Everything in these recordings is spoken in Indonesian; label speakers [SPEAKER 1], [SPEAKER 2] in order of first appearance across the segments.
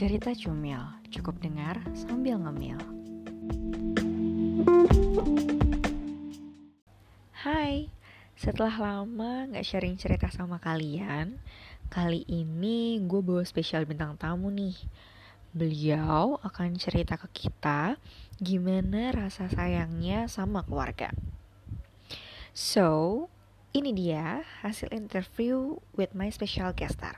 [SPEAKER 1] Cerita Cumil, cukup dengar sambil ngemil. Hai, setelah lama gak sharing cerita sama kalian, kali ini gue bawa spesial bintang tamu nih. Beliau akan cerita ke kita gimana rasa sayangnya sama keluarga. So, ini dia hasil interview with my special guest star.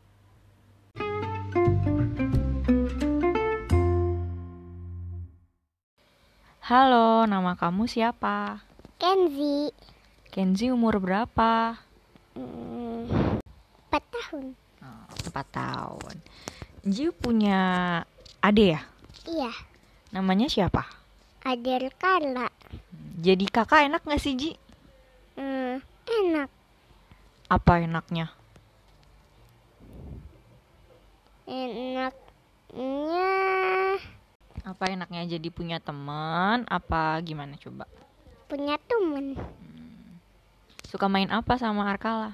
[SPEAKER 1] Halo, nama kamu siapa?
[SPEAKER 2] Kenzi.
[SPEAKER 1] Kenzi umur berapa?
[SPEAKER 2] 4 tahun.
[SPEAKER 1] 4 tahun. Kenzi punya adik ya?
[SPEAKER 2] Iya.
[SPEAKER 1] Namanya siapa?
[SPEAKER 2] Adel Carla.
[SPEAKER 1] Jadi kakak enak gak sih, Ji?
[SPEAKER 2] Enak.
[SPEAKER 1] Apa enaknya? Apa enaknya jadi punya teman? Apa gimana coba?
[SPEAKER 2] Punya teman.
[SPEAKER 1] Suka main apa sama Arkala?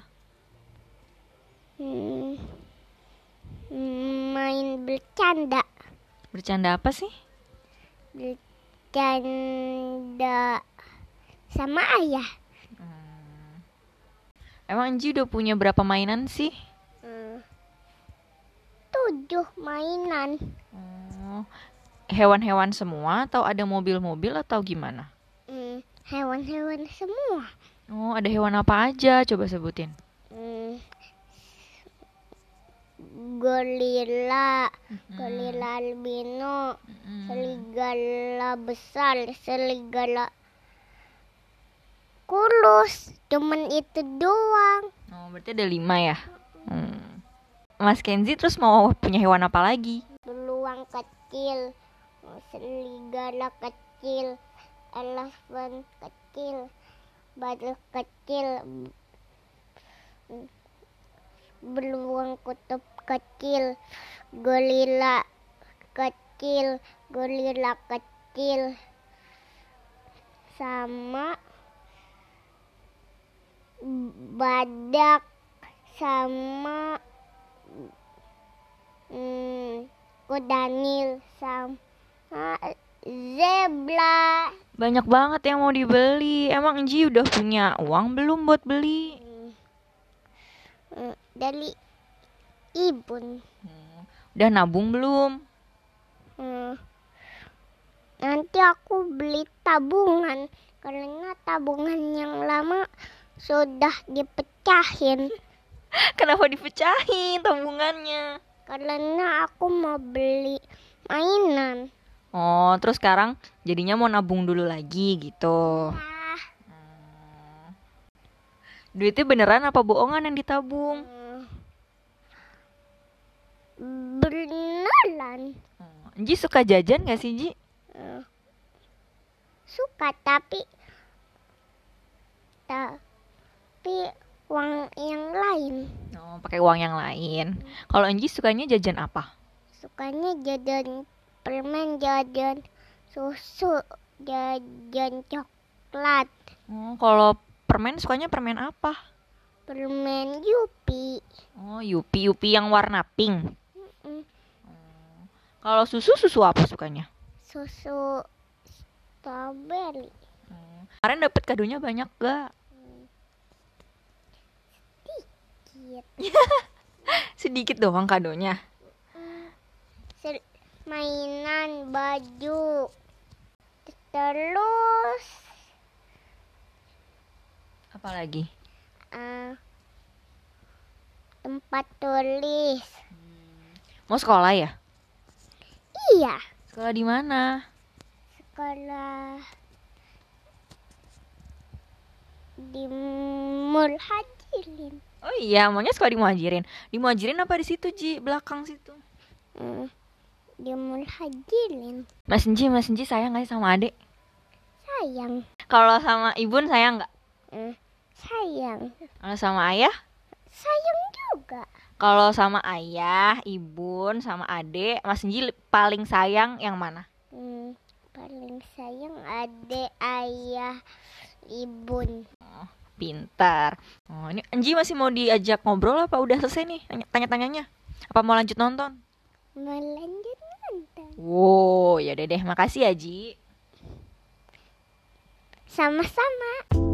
[SPEAKER 2] Main bercanda.
[SPEAKER 1] Bercanda apa sih?
[SPEAKER 2] Bercanda sama ayah.
[SPEAKER 1] Emang Enji udah punya berapa mainan sih?
[SPEAKER 2] 7 mainan.
[SPEAKER 1] Hewan-hewan semua atau ada mobil-mobil atau gimana?
[SPEAKER 2] Hewan-hewan semua.
[SPEAKER 1] Ada hewan apa aja? Coba sebutin.
[SPEAKER 2] Gorila, gorila albino, serigala besar, serigala kurus. Cuman itu doang.
[SPEAKER 1] Berarti ada 5 ya? Mas Kenzi terus mau punya hewan apa lagi?
[SPEAKER 2] Beruang kecil, serigala kecil, elephant kecil, badut kecil, beruang kutub kecil, gorila kecil, sama badak, sama kudanil, sama zebra.
[SPEAKER 1] Banyak banget yang mau dibeli. Emang Enji udah punya uang belum buat beli?
[SPEAKER 2] Dari ibun.
[SPEAKER 1] Udah nabung belum?
[SPEAKER 2] Nanti aku beli tabungan, karena tabungan yang lama sudah dipecahin.
[SPEAKER 1] Kenapa dipecahin tabungannya?
[SPEAKER 2] Karena aku mau beli mainan.
[SPEAKER 1] Terus sekarang jadinya mau nabung dulu lagi gitu. Duitnya beneran apa bohongan yang ditabung?
[SPEAKER 2] Beneran.
[SPEAKER 1] Ji suka jajan gak sih, Ji?
[SPEAKER 2] Suka, tapi uang yang lain.
[SPEAKER 1] Pakai uang yang lain. Kalau Enji sukanya jajan apa?
[SPEAKER 2] Sukanya jajan permen, jajan susu, jajan coklat.
[SPEAKER 1] Kalau permen sukanya permen apa?
[SPEAKER 2] Permen Yupi.
[SPEAKER 1] Yupi yang warna pink. Kalau susu apa sukanya?
[SPEAKER 2] Susu strawberry.
[SPEAKER 1] Kemarin dapet kadonya banyak gak? Sedikit doang kadonya.
[SPEAKER 2] Mainan, baju, terus
[SPEAKER 1] apa lagi?
[SPEAKER 2] Tempat tulis.
[SPEAKER 1] Mau sekolah ya?
[SPEAKER 2] Iya.
[SPEAKER 1] Sekolah di mana?
[SPEAKER 2] Sekolah di Muhajirin.
[SPEAKER 1] Oh iya, maunya sekolah di Muhajirin. Di Muhajirin apa di situ, Ji? Belakang situ.
[SPEAKER 2] Di Muhajirin.
[SPEAKER 1] Mas Enji sayang gak sih sama adik?
[SPEAKER 2] Sayang.
[SPEAKER 1] Kalau sama ibun sayang gak?
[SPEAKER 2] Sayang.
[SPEAKER 1] Kalau sama ayah?
[SPEAKER 2] Sayang juga.
[SPEAKER 1] Kalau sama ayah, ibun, sama adik, Mas Enji paling sayang yang mana?
[SPEAKER 2] Paling sayang adik, ayah, ibun.
[SPEAKER 1] Pintar. Ini Enji masih mau diajak ngobrol apa udah selesai nih tanya-tanyanya? Apa mau lanjut nonton?
[SPEAKER 2] Melanjut nonton.
[SPEAKER 1] Wow, ya udah deh, makasih ya Ji.
[SPEAKER 2] Sama-sama.